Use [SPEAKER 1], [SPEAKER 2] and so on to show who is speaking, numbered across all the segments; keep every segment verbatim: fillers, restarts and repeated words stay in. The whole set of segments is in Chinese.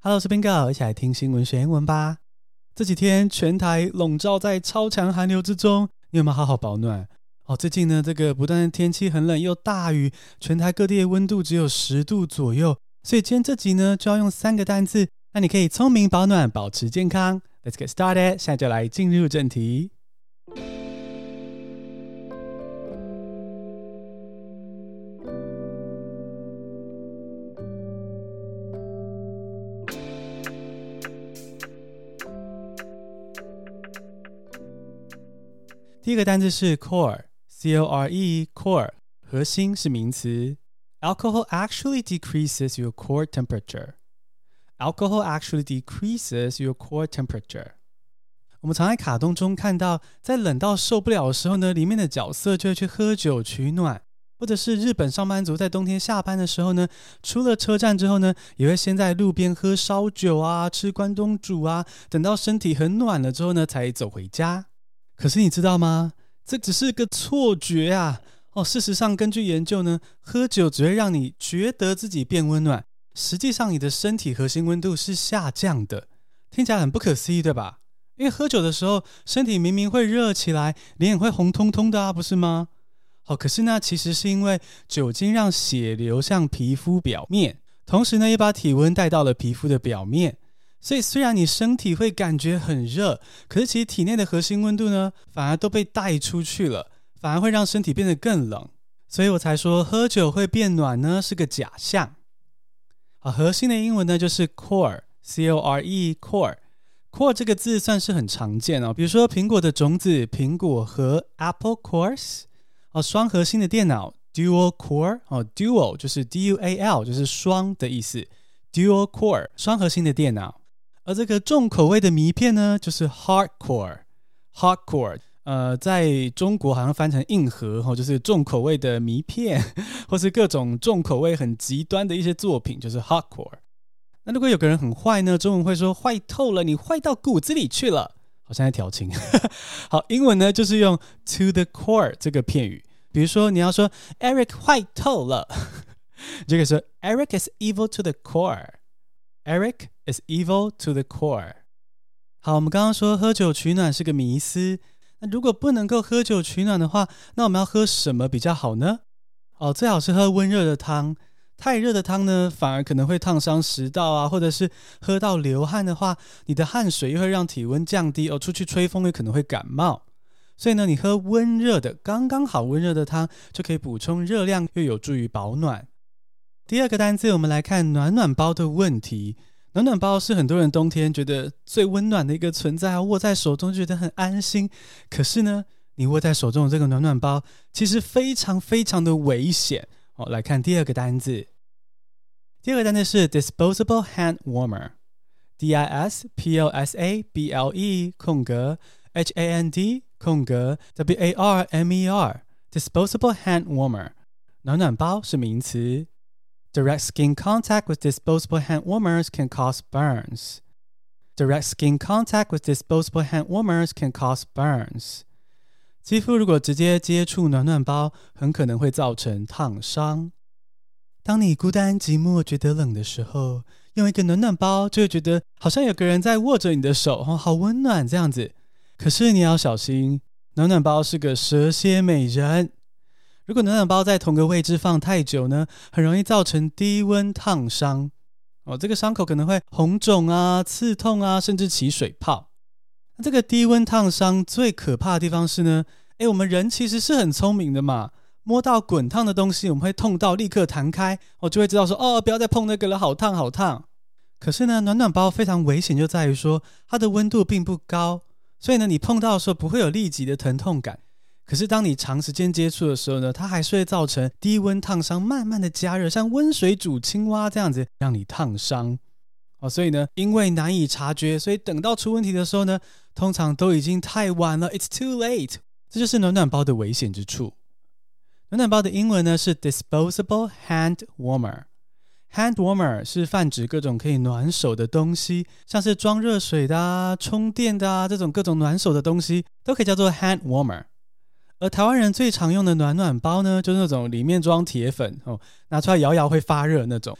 [SPEAKER 1] Hello， 我是 Bingo， 一起來聽新聞學英文吧。這幾天全台籠罩在超強寒流之中，你有沒有好好保暖？哦，最近呢，這個不但天氣很冷又大雨，全台各地的溫度只有十度左右，所以今天這集呢就要用三個單字，讓你可以聰明保暖，保持健康。Let's get started， 現在就來進入正題。第一個單字是 core， C O R E core， 核心是名詞。Alcohol actually decreases your core temperature. Alcohol actually decreases your core temperature. 我們常在卡通中看到，在冷到受不了的時候呢，裡面的角色就會去喝酒取暖，或者是日本上班族在冬天下班的時候呢，出了車站之後呢，也會先在路邊喝燒酒啊，吃關東煮啊，等到身體很暖了之後呢，才走回家。可是你知道嗎？這只是個錯覺啊！哦，事實上，根據研究呢，喝酒只會讓你覺得自己變溫暖，實際上你的身體核心溫度是下降的。聽起來很不可思議，對吧？因為喝酒的時候，身體明明會熱起來，臉也會紅彤彤的啊，不是嗎？好，可是呢，其實是因為酒精讓血流向皮膚表面，同時呢，也把體溫帶到了皮膚的表面。所以雖然你身體會感覺很熱，可是其實體內的核心溫度呢，反而都被帶出去了，反而會讓身體變得更冷。所以我才說喝酒會變暖呢，是個假象。好，核心的英文呢就是 core， C O R E core。core 這個字算是很常見哦，比如說蘋果的種子蘋果核 Apple cores， 哦，雙核心的電腦 Dual core， 哦 Dual 就是 D U A L 就是雙的意思 Dual core 雙核心的電腦。而這個重口味的迷片呢，就是 hardcore hardcore 呃，在中國好像翻成硬核、哦、就是重口味的迷片，或是各種重口味很極端的一些作品，就是 hardcore。那如果有個人很壞呢，中文會說壞透了，你壞到骨子裡去了，好像在調情。好，英文呢就是用 to the core 這個片語，比如說你要說 Eric 壞透了，就可以說 Eric is evil to the core。Eric is evil to the core。 好，我們剛剛說喝酒取暖是個迷思，那如果不能夠喝酒取暖的話，那我們要喝什麼比較好呢？哦，最好是喝溫熱的湯，太熱的湯呢，反而可能會燙傷食道啊，或者是喝到流汗的話，你的汗水又會讓體溫降低，哦，出去吹風也可能會感冒。所以呢，你喝溫熱的，剛剛好溫熱的湯，就可以補充熱量，又有助於保暖。第二個單字，我們來看暖暖包的問題。暖暖包是很多人冬天覺得最溫暖的一個存在啊，握在手中覺得很安心。可是呢，你握在手中的這個暖暖包，其實非常非常的危險。好，來看第二個單字。第二個單字是 disposable hand warmer。D I S P O S A B L E 空格 H A N D 空格 W A R M E R disposable hand warmer。暖暖包是名詞。Direct skin contact with disposable hand warmers can cause burns. Direct skin contact with disposable hand warmers can cause burns. 肌膚如果直接接觸暖暖包，很可能會造成燙傷。當你孤單寂寞覺得冷的時候，用一個暖暖包就會覺得好像有個人在握着你的手，哦，好溫暖這樣子。可是你要小心，暖暖包是個蛇蠍美人。如果暖暖包在同個位置放太久呢，很容易造成低溫燙傷。哦，這個傷口可能會紅腫啊、刺痛啊，甚至起水泡。那這個低溫燙傷最可怕的地方是呢，誒，我們人其實是很聰明的嘛，摸到滾燙的東西，我們會痛到立刻彈開，我就會知道說，哦，不要再碰那個了，好燙好燙。可是呢，暖暖包非常危險，就在於說它的溫度並不高，所以呢，你碰到的時候不會有立即的疼痛感。可是當你長時間接觸的時候呢，它還是會造成低溫燙傷，慢慢的加熱，像溫水煮青蛙這樣子，讓你燙傷。哦，所以呢，因為難以察覺，所以等到出問題的時候呢，通常都已經太晚了 ，It's too late。這就是暖暖包的危險之處。暖暖包的英文呢是 disposable hand warmer。hand warmer 是泛指各種可以暖手的東西，像是裝熱水的啊、充電的啊，這種各種暖手的東西都可以叫做 hand warmer。而台灣人最常用的暖暖包呢，就是那種裡面裝鐵粉哦，拿出來搖搖會發熱那種。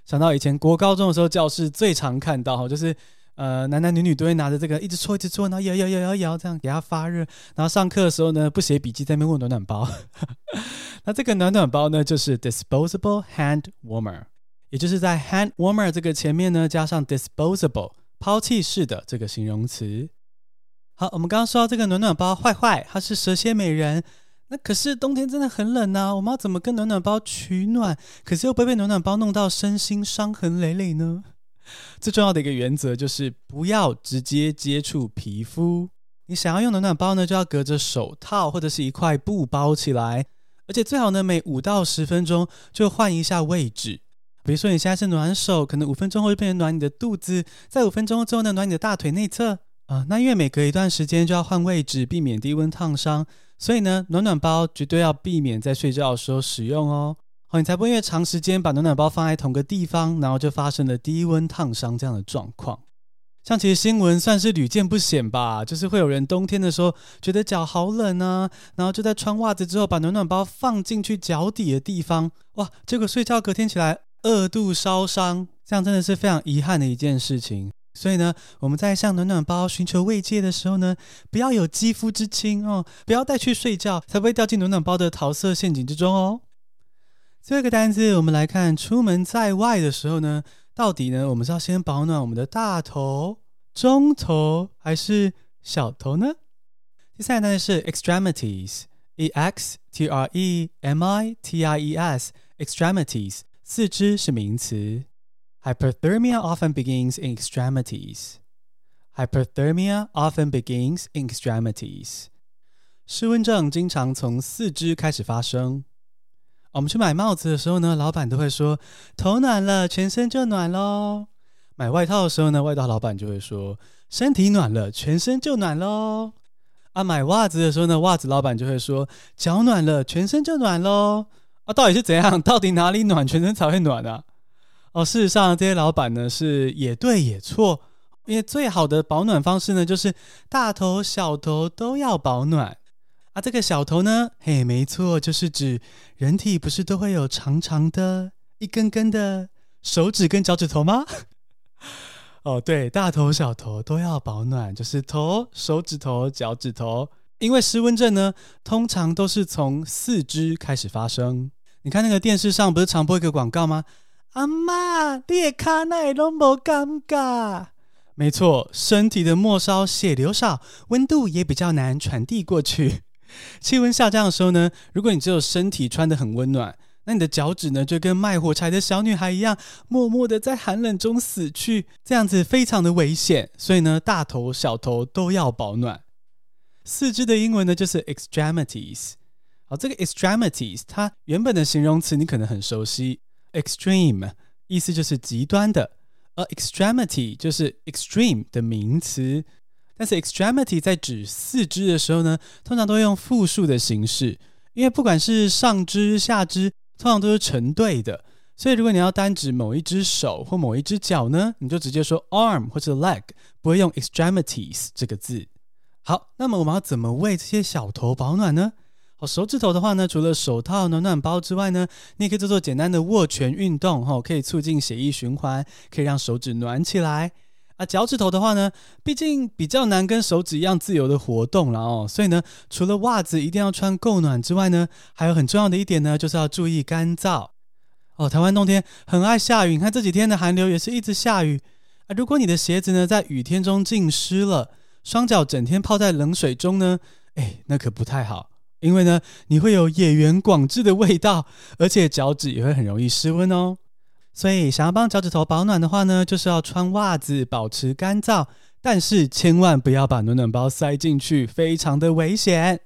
[SPEAKER 1] 想到以前國高中的時候，教室最常看到就是呃男男女女都會拿着這個一直搓一直搓，然後搖搖搖搖搖，這樣給它發熱。然後上課的時候呢，不寫筆記在那邊問暖暖包。那這個暖暖包呢，就是 disposable hand warmer， 也就是在 hand warmer 這個前面呢加上 disposable 拋棄式的這個形容詞。好，我們剛剛說到這個暖暖包壞壞，它是蛇蠍美人。那可是冬天真的很冷啊，我們要怎麼跟暖暖包取暖？可是又不會被暖暖包弄到身心傷痕累累呢？最重要的一個原則就是不要直接接觸皮膚。你想要用暖暖包呢，就要隔着手套或者是一塊布包起來，而且最好呢每五到十分鐘就換一下位置。比如說你現在是暖手，可能五分鐘後就變成暖你的肚子，在五分鐘之後呢暖你的大腿內側。啊、呃，那因為每隔一段時間就要換位置，避免低溫燙傷，所以呢，暖暖包絕對要避免在睡覺的時候使用哦。好，你才不會因為長時間把暖暖包放在同個地方，然後就發生了低溫燙傷這樣的狀況。像其實新聞算是屢見不鮮吧，就是會有人冬天的時候覺得腳好冷啊，然後就在穿襪子之後把暖暖包放進去腳底的地方，哇，結果睡覺隔天起來二度燒傷，這樣真的是非常遺憾的一件事情。所以呢，我們在向暖暖包尋求慰藉的時候呢，不要有肌膚之親哦，不要帶去睡覺，才不會掉進暖暖包的桃色陷阱之中哦。最後一個單字，我們來看出門在外的時候呢，到底呢，我們是要先保暖我們的大頭、中頭還是小頭呢？第三個單詞是 extremities，e x t r e m i t i e s，extremities， 四肢是名詞。Hyperthermia often begins in extremities. Hyperthermia often begins in extremities. 失溫症經常從四肢開始發生。我們去買帽子的時候呢，老闆都會說頭暖了，全身就暖咯。買外套的時候呢，外套老闆就會說身體暖了，全身就暖咯。啊，買襪子的時候呢，襪子老闆就會說腳暖了，全身就暖咯。啊，到底是怎樣？到底哪裡暖，全身才會暖啊？哦，事實上，這些老闆呢是也對也錯，因為最好的保暖方式呢，就是大頭小頭都要保暖啊。這個小頭呢，嘿，沒錯，就是指人體不是都會有長長的一根根的手指跟腳趾頭嗎？哦，對，大頭小頭都要保暖，就是頭、手指頭、腳趾頭。因為濕溫症呢，通常都是從四肢開始發生。你看那個電視上不是常播一個廣告嗎？阿嬤，你的腳哪會都沒感覺？沒錯，身體的末梢血流少，溫度也比較難傳遞過去。氣溫下降的時候呢，如果你只有身體穿得很溫暖，那你的腳趾呢就跟賣火柴的小女孩一樣，默默的在寒冷中死去，這樣子非常的危險。所以呢，大頭小頭都要保暖。四肢的英文呢就是 extremities。好，這個 extremities 它原本的形容詞你可能很熟悉。Extreme 意思就是極端的，而 extremity 就是 extreme 的名詞。但是 extremity 在指四肢的時候呢，通常都會用複數的形式，因為不管是上肢下肢通常都是成對的，所以如果你要單指某一隻手或某一隻腳呢，你就直接說 arm 或者 leg， 不會用 extremities 這個字。好，那麼我們要怎麼為這些小頭保暖呢？好，手指頭的話呢，除了手套、暖暖包之外呢，你也可以做做簡單的握拳運動，哦，可以促進血液循環，可以讓手指暖起來。啊，腳趾頭的話呢，畢竟比較難跟手指一樣自由的活動了哦，所以呢，除了襪子一定要穿夠暖之外呢，還有很重要的一點呢，就是要注意乾燥。哦，台灣冬天很愛下雨，你看這幾天的寒流也是一直下雨啊。如果你的鞋子呢在雨天中浸濕了，雙腳整天泡在冷水中呢，哎，那可不太好。因為呢，你會有野原廣志的味道，而且腳趾也會很容易失溫哦。所以想要幫腳趾頭保暖的話呢，就是要穿襪子保持乾燥，但是千萬不要把暖暖包塞進去，非常的危險。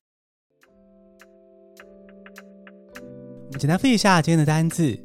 [SPEAKER 1] 我們簡單複習一下今天的單字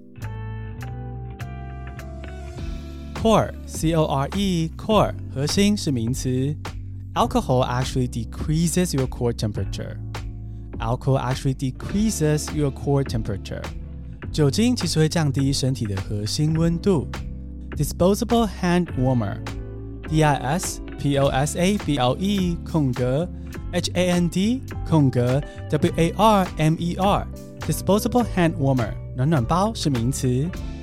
[SPEAKER 1] ：core c o r e core 核心是名詞 ，alcohol actually decreases your core temperature。Alcohol actually decreases your core temperature. 酒精其實會降低身體的核心溫度。Disposable hand warmer. D I S P O S A B L E 空格 H A N D 空格 W A R M E R. Disposable hand warmer. 暖暖包是名詞。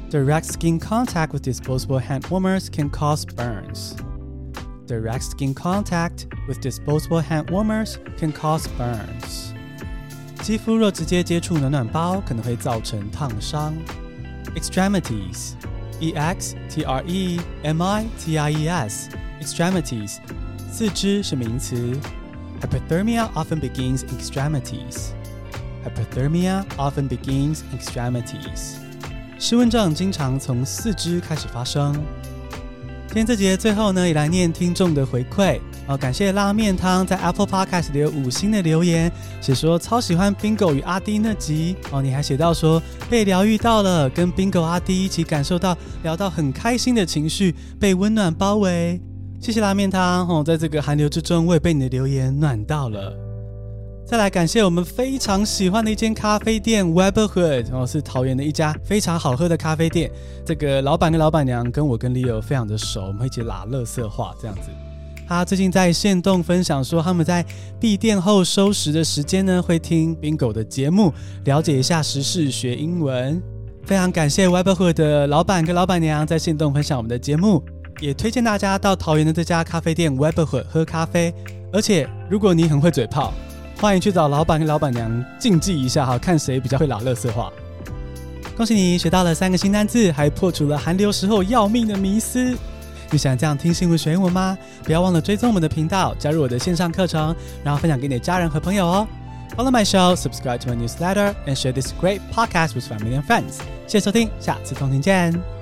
[SPEAKER 1] Direct skin contact with disposable hand warmers can cause burns. Direct skin contact with disposable hand warmers can cause burns. 肌膚若直接接觸暖暖包，可能會造成燙傷。Extremities, E X T R E M I T I E S, extremities, 四肢是名詞。Hypothermia often begins in extremities. Hypothermia often begins in extremities. 失溫症經常從四肢開始發生。今天這節最後呢，也來念聽眾的回饋。哦，感謝拉麵湯在 Apple Podcast 留五星的留言，寫說超喜歡 Bingo 與阿滴那集。哦，你還寫到說被療癒到了，跟 Bingo 阿滴一起感受到聊到很開心的情緒，被溫暖包圍。謝謝拉麵湯。哦，在這個寒流之中，我也被你的留言暖到了。再來感謝我們非常喜歡的一間咖啡店 Weberhood， 哦，是桃園的一家非常好喝的咖啡店。這個老闆跟老闆娘跟我跟 Leo 非常的熟，我們會一起拉垃圾話這樣子。他最近在限動分享說，他們在閉店後收拾的時間呢，會聽 Bingo 的節目，了解一下時事，學英文。非常感謝 Weberhood 的老闆跟老闆娘在限動分享我們的節目，也推薦大家到桃園的這家咖啡店 Weberhood 喝咖啡。而且如果你很會嘴炮，歡迎去找老闆跟老闆娘競技一下哈，看誰比較會拉垃圾話。恭喜你學到了三個新單字，還破除了寒流時候要命的迷思。你想這樣聽新聞學英文嗎？不要忘了追蹤我們的頻道，加入我的線上課程，然後分享給你的家人和朋友哦。Follow my show, subscribe to my newsletter, and share this great podcast with family and friends. 謝謝收聽，下次通勤見。